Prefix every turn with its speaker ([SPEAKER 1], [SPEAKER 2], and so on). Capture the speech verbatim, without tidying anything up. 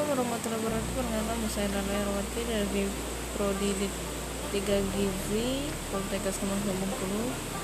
[SPEAKER 1] warahmatullahi wabarakatuh. Perkenalkan, saya Nana Erwati dari Prodi tiga Gizi Poltekkes Bengkulu.